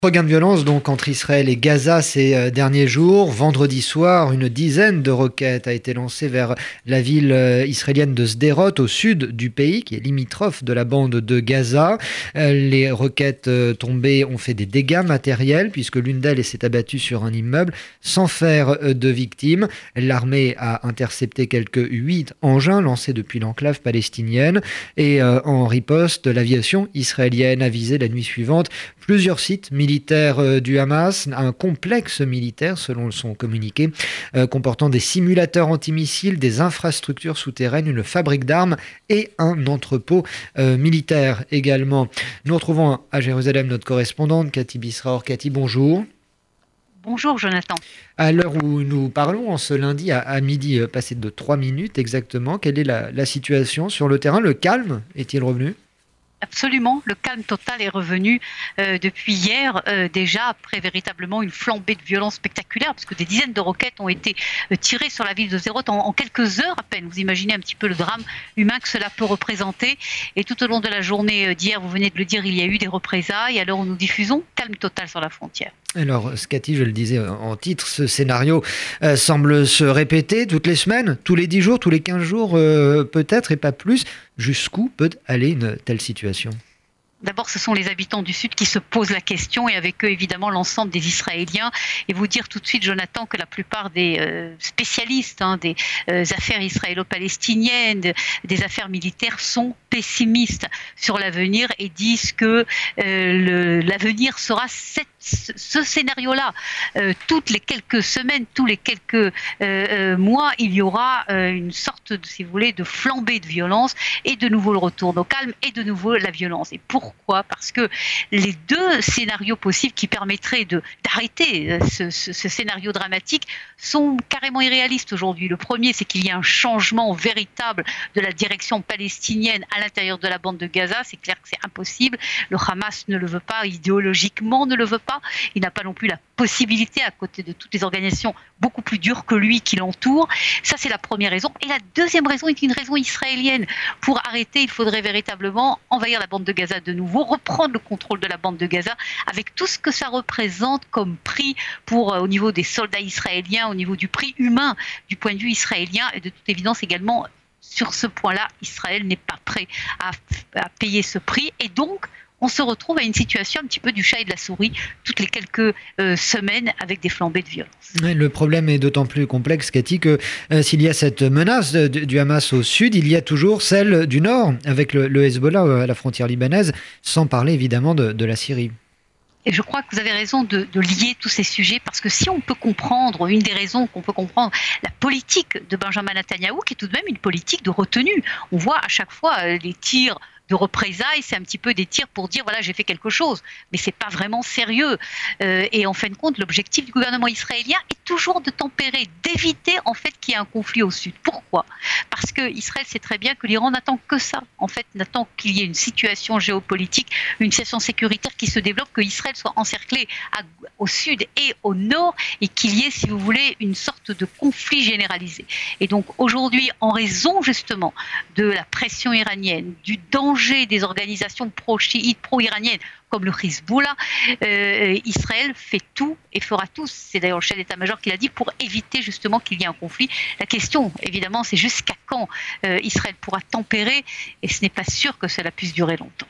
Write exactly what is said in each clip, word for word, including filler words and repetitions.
Regain de violence donc entre Israël et Gaza ces derniers jours. Vendredi soir, une dizaine de roquettes a été lancée vers la ville israélienne de Sderot, au sud du pays, qui est limitrophe de la bande de Gaza. Les roquettes tombées ont fait des dégâts matériels, puisque l'une d'elles s'est abattue sur un immeuble, sans faire de victimes. L'armée a intercepté quelques huit engins lancés depuis l'enclave palestinienne. Et en riposte, l'aviation israélienne a visé la nuit suivante plusieurs sites militaires du Hamas, un complexe militaire selon son communiqué, euh, comportant des simulateurs antimissiles, des infrastructures souterraines, une fabrique d'armes et un entrepôt euh, militaire également. Nous retrouvons à Jérusalem notre correspondante Cathy Bisraor. Cathy, bonjour. Bonjour Jonathan. À l'heure où nous parlons, en ce lundi à, à midi, euh, passé de trois minutes exactement, quelle est la, la situation sur le terrain? Le calme est-il revenu? Absolument, le calme total est revenu euh, depuis hier, euh, déjà après véritablement une flambée de violence spectaculaire, parce que des dizaines de roquettes ont été euh, tirées sur la ville de Sderot en, en quelques heures à peine. Vous imaginez un petit peu le drame humain que cela peut représenter. Et tout au long de la journée d'hier, vous venez de le dire, il y a eu des représailles. À l'heure où nous diffusons, calme total sur la frontière. Alors, Cathy, je le disais en titre, ce scénario euh, semble se répéter toutes les semaines, tous les dix jours, tous les quinze jours euh, peut-être, et pas plus. Jusqu'où peut aller une telle situation ? D'abord, ce sont les habitants du Sud qui se posent la question et avec eux, évidemment, l'ensemble des Israéliens. Et vous dire tout de suite, Jonathan, que la plupart des euh, spécialistes hein, des euh, affaires israélo-palestiniennes, de, des affaires militaires sont pessimistes sur l'avenir et disent que euh, le, l'avenir sera cette, ce scénario-là. Euh, toutes les quelques semaines, tous les quelques euh, euh, mois, il y aura euh, une sorte, de, si vous voulez, de flambée de violence et de nouveau le retour au calme et de nouveau la violence. Et pour Pourquoi ? Parce que les deux scénarios possibles qui permettraient de, d'arrêter ce, ce, ce scénario dramatique sont carrément irréalistes aujourd'hui. Le premier, c'est qu'il y a un changement véritable de la direction palestinienne à l'intérieur de la bande de Gaza. C'est clair que c'est impossible. Le Hamas ne le veut pas, idéologiquement ne le veut pas. Il n'a pas non plus la possibilité, à côté de toutes les organisations beaucoup plus dures que lui qui l'entourent. Ça, c'est la première raison. Et la deuxième raison est une raison israélienne. Pour arrêter, il faudrait véritablement envahir la bande de Gaza de nouveau, reprendre le contrôle de la bande de Gaza avec tout ce que ça représente comme prix pour, euh, au niveau des soldats israéliens, au niveau du prix humain du point de vue israélien, et de toute évidence également sur ce point-là, Israël n'est pas prêt à, à payer ce prix, et donc on se retrouve à une situation un petit peu du chat et de la souris toutes les quelques euh, semaines avec des flambées de violence. Le problème est d'autant plus complexe, Cathy, que euh, s'il y a cette menace de, du Hamas au sud, il y a toujours celle du nord, avec le, le Hezbollah à la frontière libanaise, sans parler évidemment de, de la Syrie. Et je crois que vous avez raison de, de lier tous ces sujets, parce que si on peut comprendre, une des raisons qu'on peut comprendre, la politique de Benjamin Netanyahou, qui est tout de même une politique de retenue. On voit à chaque fois les tirs de représailles, c'est un petit peu des tirs pour dire voilà, j'ai fait quelque chose, mais c'est pas vraiment sérieux. Euh, et en fin de compte, l'objectif du gouvernement israélien est toujours de tempérer, d'éviter en fait qu'il y ait un conflit au sud. Pourquoi ? Parce que Israël sait très bien que l'Iran n'attend que ça. En fait, n'attend qu'il y ait une situation géopolitique, une situation sécuritaire qui se développe, que Israël soit encerclé à, au sud et au nord, et qu'il y ait, si vous voulez, une sorte de conflit généralisé. Et donc aujourd'hui, en raison justement de la pression iranienne, du danger des organisations pro-chiites, pro-iraniennes, comme le Hezbollah, euh, Israël fait tout et fera tout, c'est d'ailleurs le chef d'état-major qui l'a dit, pour éviter justement qu'il y ait un conflit. La question, évidemment, c'est jusqu'à quand euh, Israël pourra tempérer, et ce n'est pas sûr que cela puisse durer longtemps.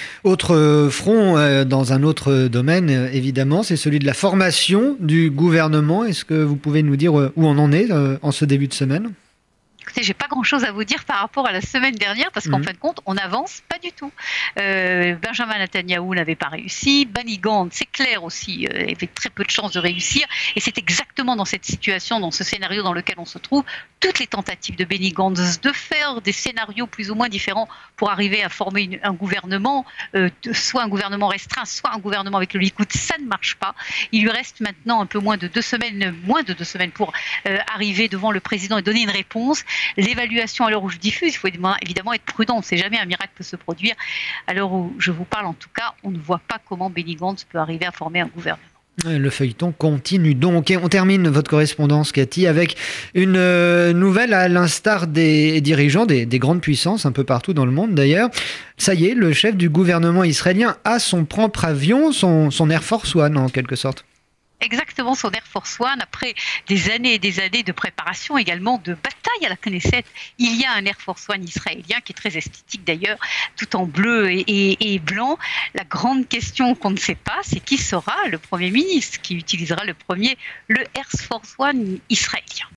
Autre front, euh, dans un autre domaine, euh, évidemment, c'est celui de la formation du gouvernement. Est-ce que vous pouvez nous dire où on en est euh, en ce début de semaine ? Écoutez, j'ai pas grand-chose à vous dire par rapport à la semaine dernière, parce qu'en mmh. fin de compte, on n'avance pas du tout. Euh, Benjamin Netanyahou n'avait pas réussi. Benny Gantz, c'est clair aussi, euh, avait très peu de chances de réussir. Et c'est exactement dans cette situation, dans ce scénario dans lequel on se trouve, toutes les tentatives de Benny Gantz de faire des scénarios plus ou moins différents pour arriver à former une, un gouvernement, euh, de, soit un gouvernement restreint, soit un gouvernement avec le Likoud, ça ne marche pas. Il lui reste maintenant un peu moins de deux semaines, moins de deux semaines pour euh, arriver devant le président et donner une réponse. L'évaluation à l'heure où je diffuse, il faut évidemment être prudent, on ne sait jamais, un miracle peut se produire. À l'heure où je vous parle, en tout cas, on ne voit pas comment Benny Gantz peut arriver à former un gouvernement. Le feuilleton continue donc. Et on termine votre correspondance, Cathy, avec une euh, nouvelle à l'instar des dirigeants des, des grandes puissances, un peu partout dans le monde d'ailleurs. Ça y est, le chef du gouvernement israélien a son propre avion, son, son Air Force One en quelque sorte. Exactement, son Air Force One, après des années et des années de préparation, également de bataille à la Knesset. Il y a un Air Force One israélien qui est très esthétique d'ailleurs, tout en bleu et, et, et blanc. La grande question qu'on ne sait pas, c'est qui sera le Premier ministre qui utilisera le premier le Air Force One israélien.